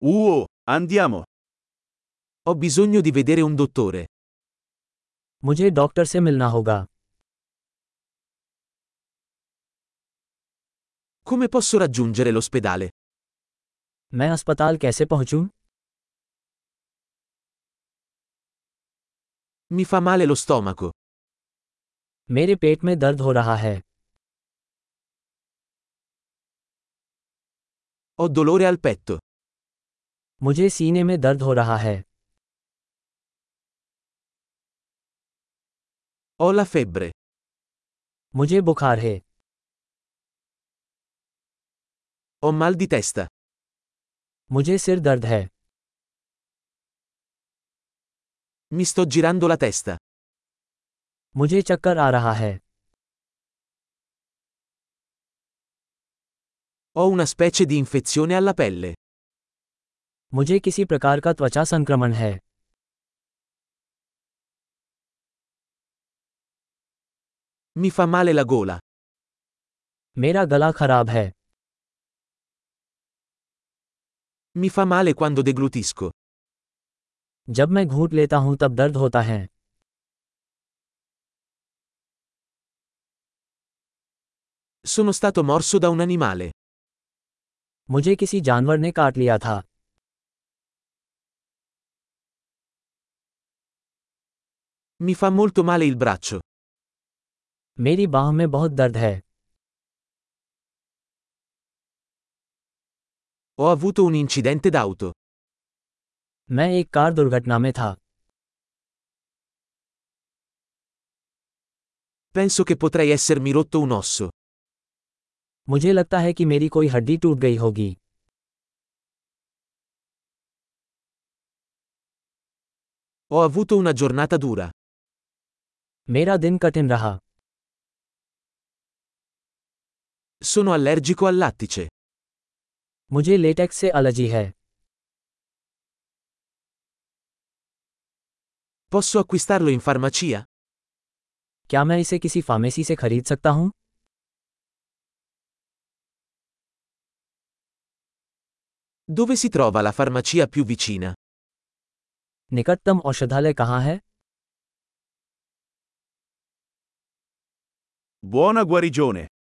Andiamo. Ho bisogno di vedere un dottore. मुझे डॉक्टर से मिलना होगा। Come posso raggiungere l'ospedale? मैं अस्पताल कैसे पहुंचूं? Mi fa male lo stomaco. मेरे पेट में दर्द हो रहा है। Ho dolore al petto. मुझे सीने में दर्द हो रहा है। Ho la febbre. मुझे बुखार है। Ho mal di testa. मुझे सिर दर्द है। Mi sto girando la testa. मुझे चक्कर आ रहा है। Ho una specie di infezione alla pelle. मुझे किसी प्रकार का त्वचा संक्रमण है। Mi fa male la gola. मेरा गला खराब है। Mi fa male quando deglutisco. जब मैं घूंट लेता हूं तब दर्द होता है। Sono stato morso da un animale. मुझे किसी जानवर ने काट लिया था। Mi fa molto male il braccio. मेरी बाह में बहुत दर्द है। Ho avuto un incidente d'auto. मैं एक कार दुर्घटना में था। Penso che potrei essermi rotto un osso. मुझे लगता है कि मेरी कोई हड्डी टूट गई होगी। Ho avuto una giornata dura. मेरा दिन कठिन रहा। Sono allergico al lattice. मुझे लेटेक्स से एलर्जी है। Posso acquistarlo in farmacia? क्या मैं इसे किसी फार्मेसी से खरीद सकता हूं? Dove si trova la farmacia più vicina? निकटतम औषधालय कहाँ है? Buona guarigione.